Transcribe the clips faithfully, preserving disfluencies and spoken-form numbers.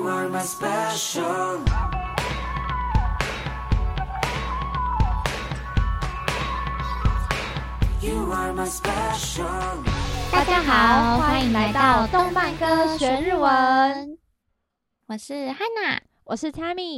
are my special You are my special 大家好，歡迎來到動漫歌學日文。我是 Hana， 我是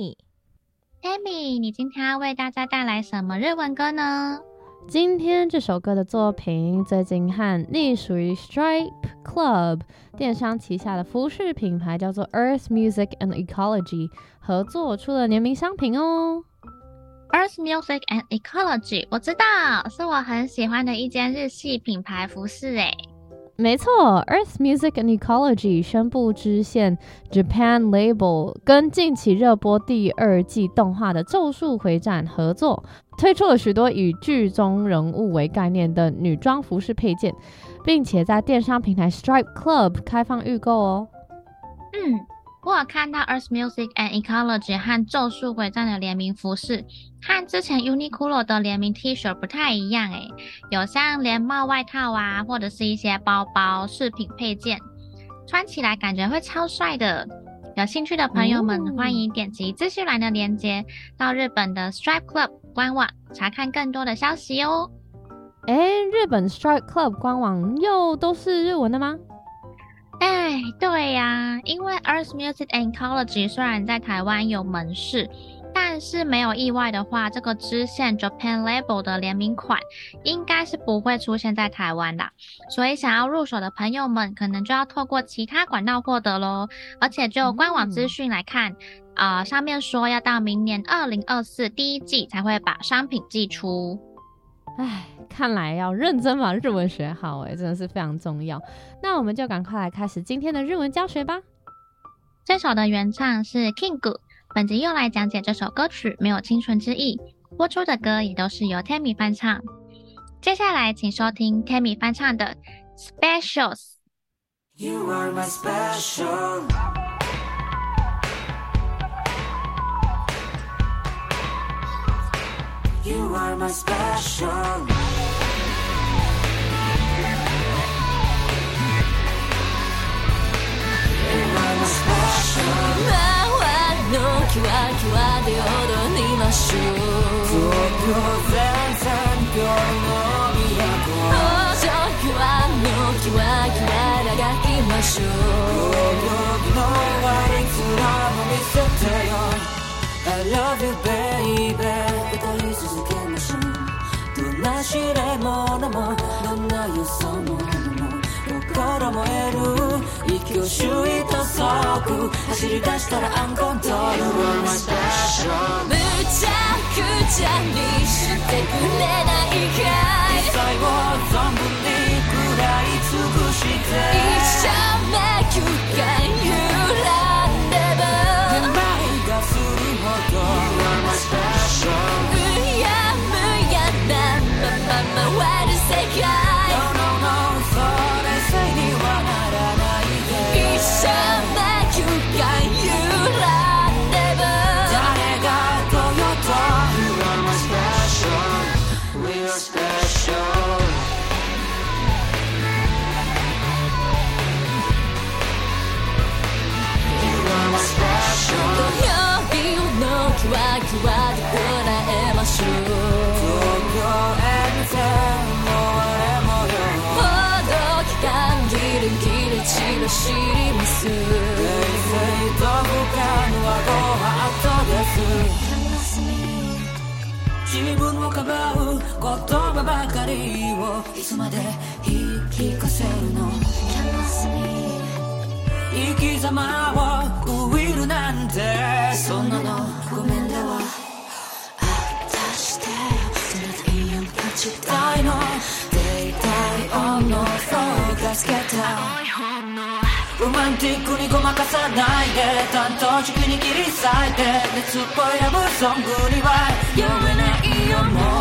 Tammy。Tammy， 你今天要為大家帶來什麼日文歌呢？ 今天這首歌的作品最近和隸屬於 Stripe Club 電商旗下的服飾品牌叫做 Earth Music and Ecology 合作出了聯名商品哦。 Earth Music and Ecology 我知道，是我很喜歡的一間日系品牌服飾誒。 沒錯 Earth Music and Ecology 宣布支線 Japan Label 跟近期熱播第二季動畫的咒術迴戰合作，推出了許多以劇中人物為概念的女裝服飾配件，並且在電商平台 Stripe Club 開放預購哦。 嗯，我有看到 Earth Music and Ecology 和咒術迴戰的聯名服飾，和之前 Uniqlo 的聯名 T 恤不太一樣誒，有像連帽外套啊，或者是一些包包、飾品配件，穿起來感覺會超帥的。有興趣的朋友們，嗯、歡迎點擊資訊欄的鏈接，到日本的 Stripe Club 官網查看更多的消息哦。 誒，日本 Stripe Club 官網又都是日文的嗎？ 哎，對呀、啊，因為 Earth Music and Ecology 雖然在台灣有門市，但是沒有意外的話，這個支線 Japan Label 的聯名款應該是不會出現在台灣的，所以想要入手的朋友們可能就要透過其他管道獲得咯。而且就官網資訊來看，嗯呃、上面說要到明年二零二四第一季才會把商品寄出。 唉，看來要認真把日文學好，哎，真的是非常重要。那我們就趕快來開始今天的日文教學吧。 這首的原唱是 King， 本集用來講解這首歌曲沒有清純之意，播出的歌也都是由 Tammy 翻唱。接下來請收聽 Tammy 翻唱的 Specials。 You are my special You are my special You are my special 今はのキワキワで踊りましょう東京全然今日の都東京はのキワキワで描きましょう両国の終わり面も見せてよI love you baby 歌い続けましょうどんな試練ものもどんな予想も心燃える息をシュイと速く走り出したらアンコントロール You are my special むちゃくちゃにしてくれないかい最後存分に食らい尽くして一生迷宮が揺らんでもめまいがするほど You are my special うやむやなまま回る世界 No no no それせいにはならないで一生迷宮が揺らんでも誰が来ようと You are my special We are special You are my special 土曜日のキワキワでこらえましょう東京へ見てもあれもよほどき感ギリギリ散らします冷静と不可能はご法度です自分をかばう言葉ばかりをいつまで言い聞かせるの生き様をウイルなんてそんなのごめんだわあたしてその太陽がちたいのデイタイオンのフォーカスけたロマンティックにごまかさないで担当軸に切り裂いて熱っぽいラブソングには酔えないよもう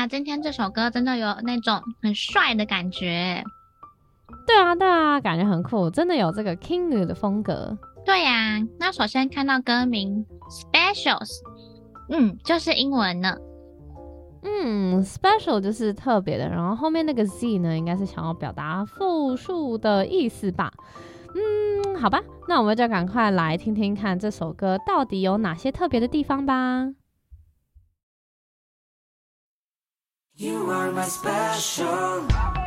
哇，今天這首歌真的有那種很帥的感覺。 對啊，對啊，感覺很酷，真的有這個 King 的風格。 對呀、啊，那首先看到歌名 Specials， 嗯，就是英文呢。 嗯 ，Special 就是特別的，然後後面那個 Z 呢，應該是想要表達複數的意思吧。嗯，好吧，那我們就趕快來聽聽看這首歌到底有哪些特別的地方吧。 You are my special.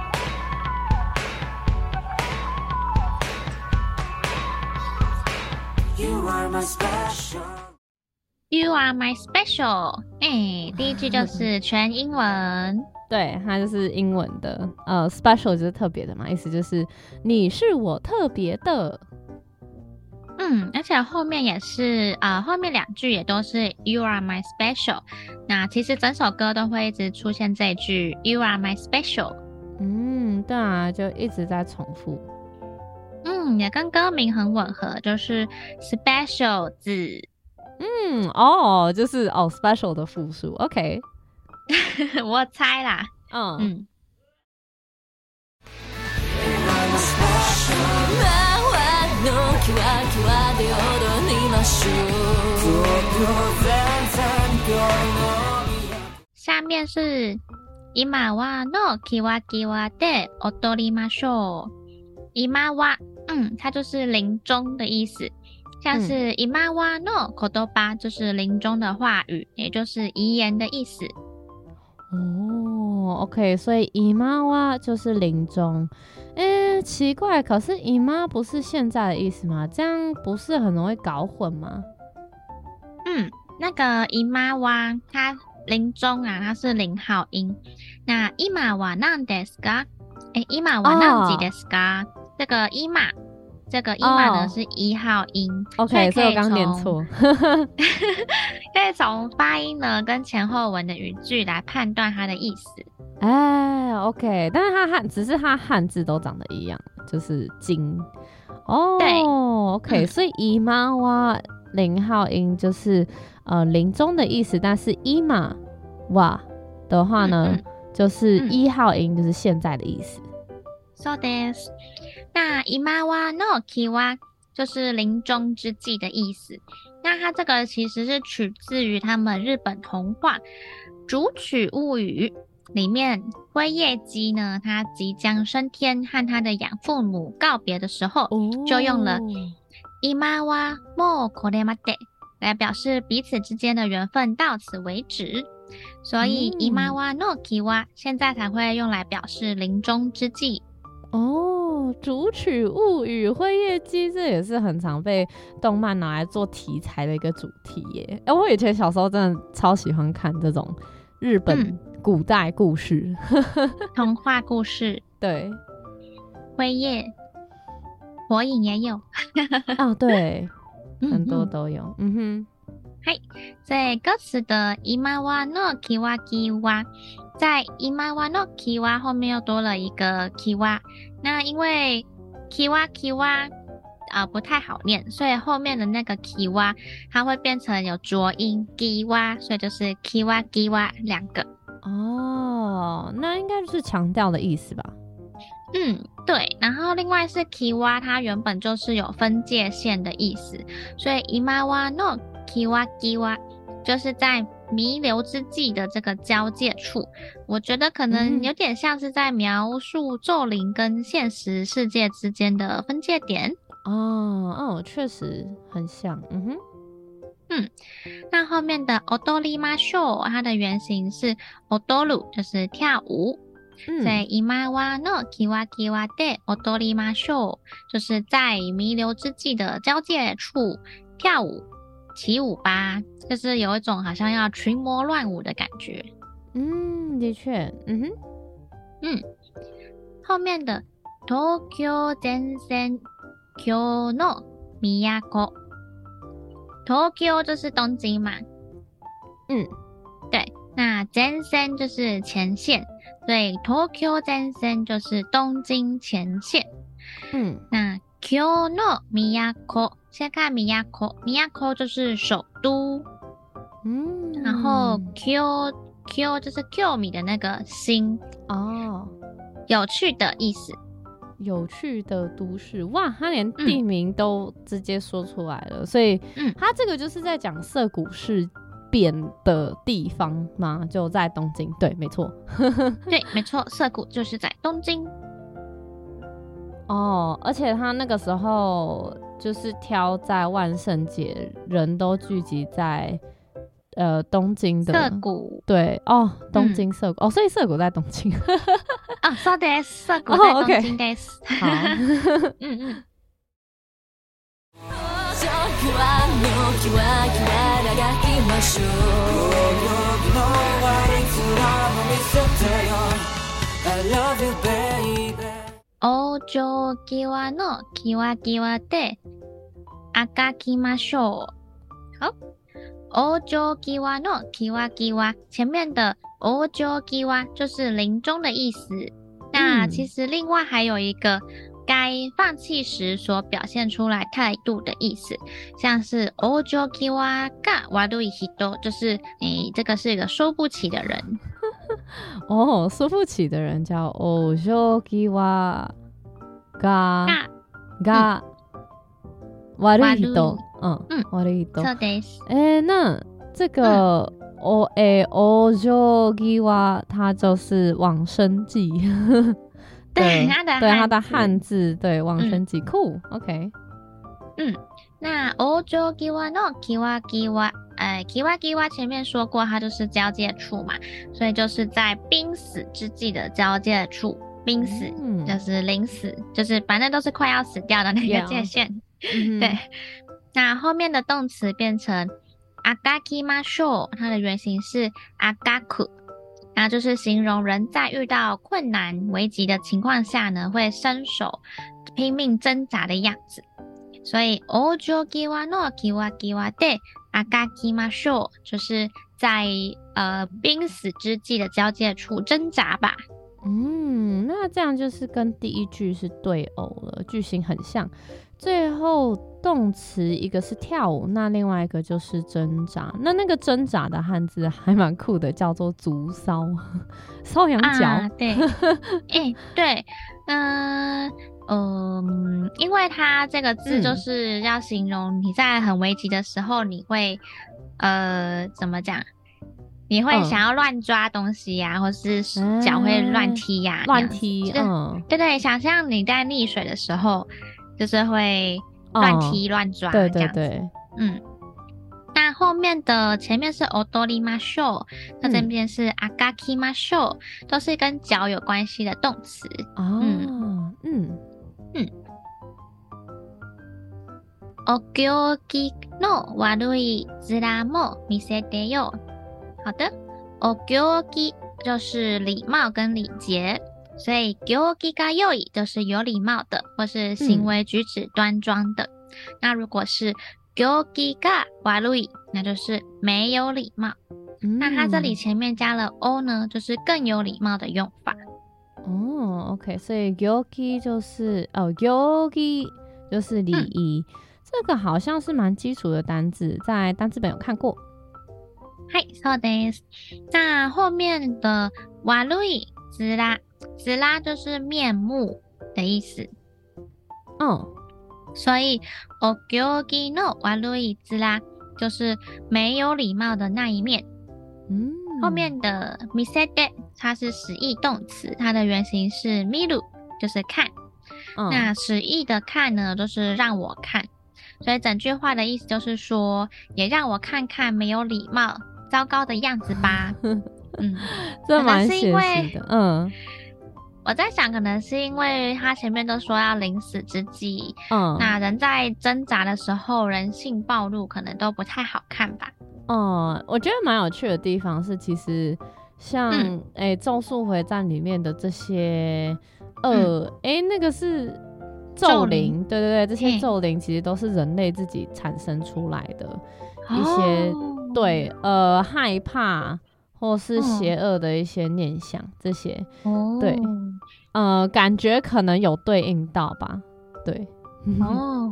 You are my special. You are my special. 哎、欸，第一句就是全英文。 對，它就是英文的。呃 ，special 就是特別的嘛，意思就是你是我特別的。 嗯，而且後面也是，呃，後面兩句也都是 You are my special。那其實整首歌都會一直出現這一句 You are my special。 嗯，對啊，就一直在重複。 嗯，也跟歌名很吻合，就是 special 字。 嗯，哦，就是哦 special 的複數 ，OK。 我猜啦。 嗯嗯。下面是今はのキワキワで踊りましょう。今は，嗯，它就是臨終的意思，像是今はの言葉就是臨終的話語，也就是遺言的意思。 哦 ，OK， 所以今は就是臨終。誒，奇怪，可是今不是現在的意思嗎？這樣不是很容易搞混嗎？ 嗯，那個今は它臨終啊，它是零號音。那今は何ですか？誒，今は何時ですか？這個今，這個今呢、oh. 是一號音。 OK， 所以我剛念錯。 可以從發音呢跟前後文的語句來判斷它的意思。 哎 ，OK， 但是它漢只是它漢字都長得一樣，就是金。哦，對 ，OK，、嗯、所以今は零號音就是呃臨終的意思，但是今は的話呢，嗯嗯就是一號音，就是現在的意思。 そうです。那今はのキワ就是臨終之際的意思。那它這個其實是取自於他們日本童話《竹取物語》裡面，輝夜姬呢，他即將升天和他的養父母告別的時候，哦、就用了今はもうこれまで來表示彼此之間的緣分到此為止。所以今はのキワ現在才會用來表示臨終之際。 哦，竹取物語，輝夜姬這也是很常被動漫拿來做題材的一個主題耶。哎、欸，我以前小時候真的超喜歡看這種日本古代故事、嗯、 童話故事。 對， 輝夜、火影也有。 哦，對，很多都有。嗯哼。 はい。所以歌詞的今はのキワキワ，在今はのキワ後面又多了一個キワ。那因為キワキワ啊不太好念，所以後面的那個キワ它會變成有濁音キワ，所以就是キワキワ兩個。 哦，那應該就是強調的意思吧？ 嗯，對。然後另外是キワ，它原本就是有分界線的意思，所以今はのキワキワ就是在彌留之際的這個交界處，我覺得可能有點像是在描述咒靈跟現實世界之間的分界點。 哦哦，確實很像。嗯哼， 嗯，那後面的踊りましょう，它的原型是踊る，就是跳舞。嗯、所以今はのキワキワで踊りましょう，就是在彌留之際的交界處跳舞。起舞吧，就是有一種好像要群魔亂舞的感覺。 嗯，的確，嗯哼， 嗯，後面的東京前線今日の都，東京就是東京嘛。嗯，對，那前線就是前線，所以東京前線就是東京前線。嗯，那今日の都。先看都，都就是首都，嗯，然後 Q Q 就是 Q 米的那個新哦， 有趣的意思。 有趣的都市，哇，他連地名都直接說出來了，嗯、所以，嗯，他這個就是在講澀谷事變的地方嘛，就在東京，對，沒錯， 對，沒錯，澀谷就是在東京。 哦，而且他那個時候就是挑在萬聖節，人都聚集在。呃，東京的澀谷， 對哦，東京澀谷、嗯、哦，所以澀谷在東京啊，そうです，澀谷在東京です。 好，嗯嗯。 往生際のキワキワで描きましょう。好。往生際のキワキワ，前面的往生際就是臨終的意思。那其實另外還有一個該放棄時所表現出來態度的意思，像是往生際が悪い人，就是你這個是一個說不起的人。 哦，說不起的人叫往生際がが悪い人。嗯嗯，悪い人。 そうです。 哎，那這個哦哎往生際它就是往生際， 對它的對它的漢字，對往生際，酷 ，OK。 嗯，那往生際のキワキワ，哎，キワキワ前面說過，它就是交界處嘛，所以就是在瀕死之際的交界處，瀕死、嗯、就是臨死，就是反正都是快要死掉的那個界限， yeah. 對。那後面的動詞變成描きましょう，它的原型是描く，那就是形容人在遇到困難危急的情況下呢，會伸手拼命掙扎的樣子。所以往生際のキワキワで描きましょう，就是在呃瀕死之際的交界處掙扎吧。 嗯，那這樣就是跟第一句是對偶了，句型很像。最後動詞一個是跳舞，那另外一個就是掙扎。那那個掙扎的漢字還蠻酷的，叫做足搔，搔癢腳。啊、對， 哎、欸，對，嗯、呃、嗯，因為它這個字就是要形容你在很危急的時候，你會、嗯、呃怎麼講？你會想要亂抓東西呀、啊嗯，或是腳會亂踢呀、啊，亂、欸、踢。嗯，對對，想象你在溺水的時候。就是會亂踢亂、哦、抓，對對對，嗯。那後面的前面是踊りましょう，那這邊是描きましょう，都是跟腳有關係的動詞。哦，嗯嗯嗯。お行儀の悪い面も見せてよ。好的，お行儀就是禮貌跟禮節。所以行儀が良い就是有禮貌的，或是行為舉止端莊的。嗯、那如果是行儀が悪い，那就是沒有禮貌、嗯。那它這裡前面加了 o 呢，就是更有禮貌的用法。 哦 ，OK， 所以行儀就是哦，行儀就是禮儀、嗯，這個好像是蠻基礎的單字，在單字本有看過。 はい、そうです。那後面的悪い面。面就是面目的意思，嗯，所以お行儀の悪い面就是沒有禮貌的那一面。嗯，後面的見せて它是使役動詞，它的原型是見る，就是看。嗯、那使役的看呢，就是讓我看，所以整句話的意思就是說，也讓我看看沒有禮貌、糟糕的樣子吧。嗯， 這蠻寫實的，嗯。 我在想，可能是因為他前面都說要臨死之際，嗯，那人在掙扎的時候，人性暴露，可能都不太好看吧。 嗯，我覺得蠻有趣的地方是，其實像誒、嗯欸《咒術迴戰》裡面的這些呃，誒、嗯欸，那個是咒靈，對對對，這些咒靈其實都是人類自己產生出來的一些、哦、對呃害怕。或是邪惡的一些念想、哦，這些，對，呃，感覺可能有對應到吧，對， 哦，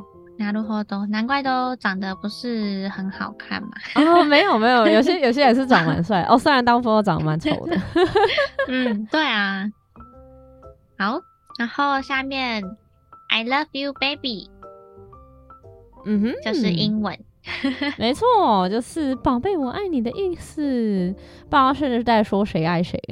なるほど，難怪都長得不是很好看嘛。 哦，沒有沒有，有些有些也是長蠻帥哦，雖然大部分都長得蠻醜的。 嗯，對啊。好，然後下面 I love you baby， 嗯哼， 就是英文。 沒錯，就是寶貝我愛你的意思。不知道是在說誰愛誰。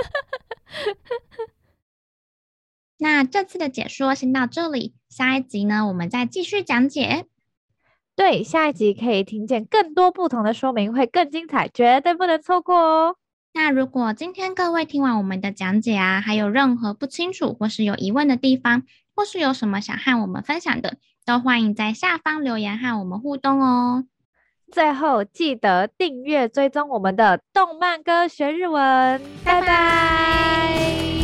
那這次的解說先到這裡，下一集呢，我們再繼續講解。 對，下一集可以聽見更多不同的說明，會更精彩，絕對不能錯過哦。 那如果今天各位聽完我們的講解啊，還有任何不清楚或是有疑問的地方，或是有什麼想和我們分享的，都歡迎在下方留言和我們互動哦。 最後記得訂閱追蹤我們的動漫歌學日文，拜拜。